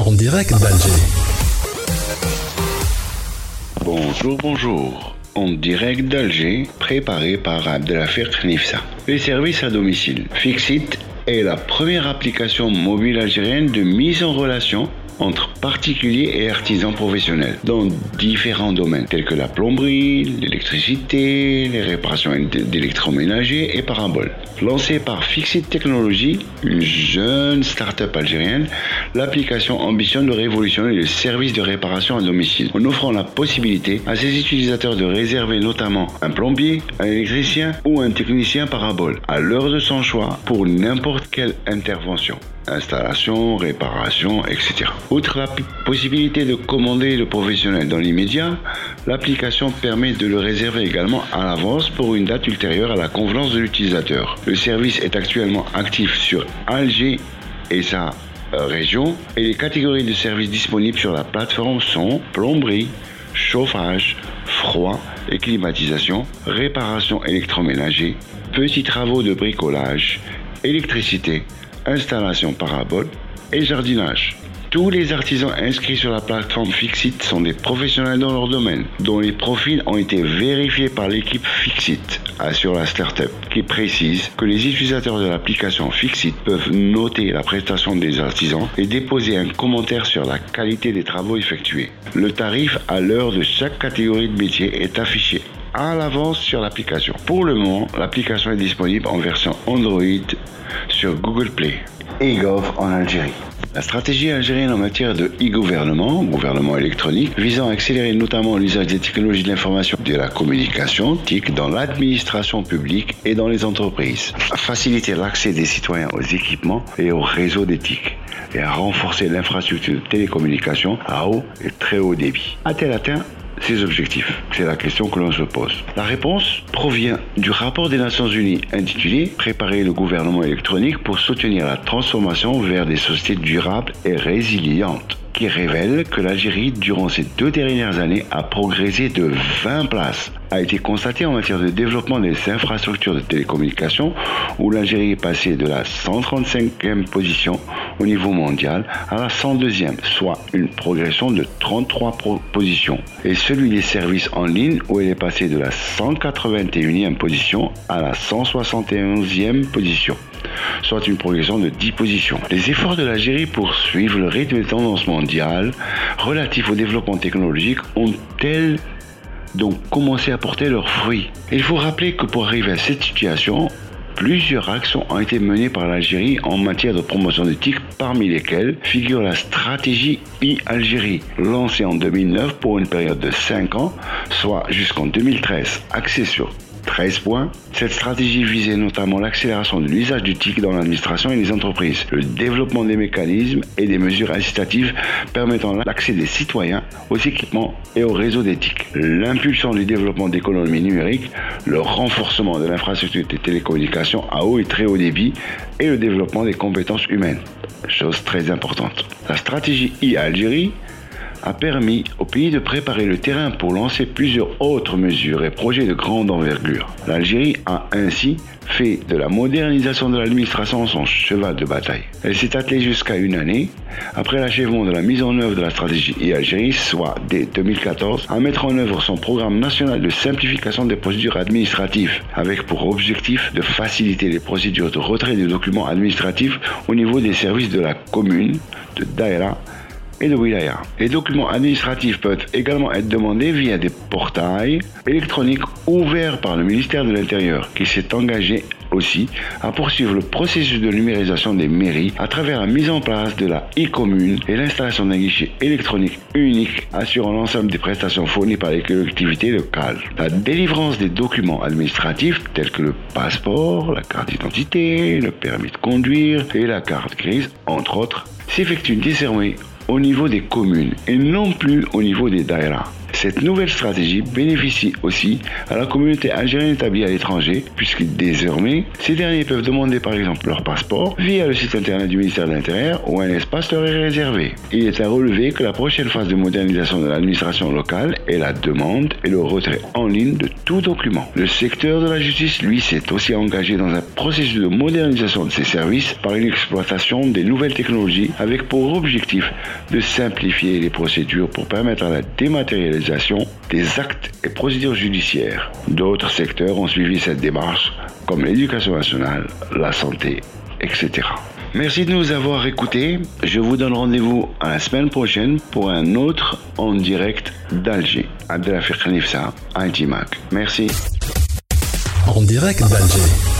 en direct d'Alger. Bonjour. En direct d'Alger, préparé par Abdelafir Khnifsa. Les services à domicile. Fixit est la première application mobile algérienne de mise en relation entre particuliers et artisans professionnels dans différents domaines tels que la plomberie, l'électricité, les réparations d'électroménager et paraboles. Lancée par Fixit Technologies, une jeune start-up algérienne, l'application ambitionne de révolutionner le service de réparation à domicile en offrant la possibilité à ses utilisateurs de réserver notamment un plombier, un électricien ou un technicien parabole à l'heure de son choix pour n'importe quelle intervention. Installation, réparation, etc. Outre la possibilité de commander le professionnel dans l'immédiat, l'application permet de le réserver également à l'avance pour une date ultérieure à la convenance de l'utilisateur. Le service est actuellement actif sur Alger et sa région et les catégories de services disponibles sur la plateforme sont plomberie, chauffage, froid et climatisation, réparation électroménager, petits travaux de bricolage, électricité, installation parabole et jardinage. Tous les artisans inscrits sur la plateforme Fixit sont des professionnels dans leur domaine, dont les profils ont été vérifiés par l'équipe Fixit, assure la start-up, qui précise que les utilisateurs de l'application Fixit peuvent noter la prestation des artisans et déposer un commentaire sur la qualité des travaux effectués. Le tarif à l'heure de chaque catégorie de métier est affiché à l'avance sur l'application. Pour le moment, l'application est disponible en version Android sur Google Play et Gov en Algérie. La stratégie algérienne en matière de e-gouvernement, gouvernement électronique, visant à accélérer notamment l'usage des technologies de l'information et de la communication, TIC, dans l'administration publique et dans les entreprises, à faciliter l'accès des citoyens aux équipements et aux réseaux des TIC, et à renforcer l'infrastructure de télécommunication à haut et très haut débit. A-t-elle atteint ces objectifs? C'est la question que l'on se pose. La réponse provient du rapport des Nations Unies intitulé « Préparer le gouvernement électronique pour soutenir la transformation vers des sociétés durables et résilientes » qui révèle que l'Algérie, durant ces 2 dernières années, a progressé de 20 places. A été constaté en matière de développement des infrastructures de télécommunications, où l'Algérie est passée de la 135e position au niveau mondial à la 102e, soit une progression de 33 positions. Et celui des services en ligne, où elle est passée de la 181e position à la 171e position, soit une progression de 10 positions. Les efforts de l'Algérie pour suivre le rythme des tendances mondiales relatifs au développement technologique ont-elles donc commencé à porter leurs fruits? Il faut rappeler que pour arriver à cette situation, plusieurs actions ont été menées par l'Algérie en matière de promotion de TIC, parmi lesquelles figure la stratégie e-Algérie, lancée en 2009 pour une période de 5 ans, soit jusqu'en 2013, axée sur 13 points. Cette stratégie visait notamment l'accélération de l'usage du TIC dans l'administration et les entreprises, le développement des mécanismes et des mesures incitatives permettant l'accès des citoyens aux équipements et aux réseaux des TIC, l'impulsion du développement d'économies numériques, le renforcement de l'infrastructure des télécommunications à haut et très haut débit et le développement des compétences humaines, chose très importante. La stratégie e-Algérie a permis au pays de préparer le terrain pour lancer plusieurs autres mesures et projets de grande envergure. L'Algérie a ainsi fait de la modernisation de l'administration son cheval de bataille. Elle s'est attelée jusqu'à une année, après l'achèvement de la mise en œuvre de la stratégie e-Algérie, soit dès 2014, à mettre en œuvre son programme national de simplification des procédures administratives, avec pour objectif de faciliter les procédures de retrait des documents administratifs au niveau des services de la commune, de Daïra et de Wilaya. Les documents administratifs peuvent également être demandés via des portails électroniques ouverts par le ministère de l'Intérieur, qui s'est engagé aussi à poursuivre le processus de numérisation des mairies à travers la mise en place de la e-commune et l'installation d'un guichet électronique unique assurant l'ensemble des prestations fournies par les collectivités locales. La délivrance des documents administratifs tels que le passeport, la carte d'identité, le permis de conduire et la carte grise, entre autres, s'effectue désormais au niveau des communes et non plus au niveau des daïras. Cette nouvelle stratégie bénéficie aussi à la communauté algérienne établie à l'étranger, puisque désormais, ces derniers peuvent demander par exemple leur passeport via le site internet du ministère de l'Intérieur où un espace leur est réservé. Il est à relever que la prochaine phase de modernisation de l'administration locale est la demande et le retrait en ligne de tout document. Le secteur de la justice, lui, s'est aussi engagé dans un processus de modernisation de ses services par une exploitation des nouvelles technologies avec pour objectif de simplifier les procédures pour permettre la dématérialisation des actes et procédures judiciaires. D'autres secteurs ont suivi cette démarche, comme l'éducation nationale, la santé, etc. Merci de nous avoir écoutés. Je vous donne rendez-vous à la semaine prochaine pour un autre en direct d'Alger. Abdelafiq Nifsa, IT Mac. Merci. En direct d'Alger.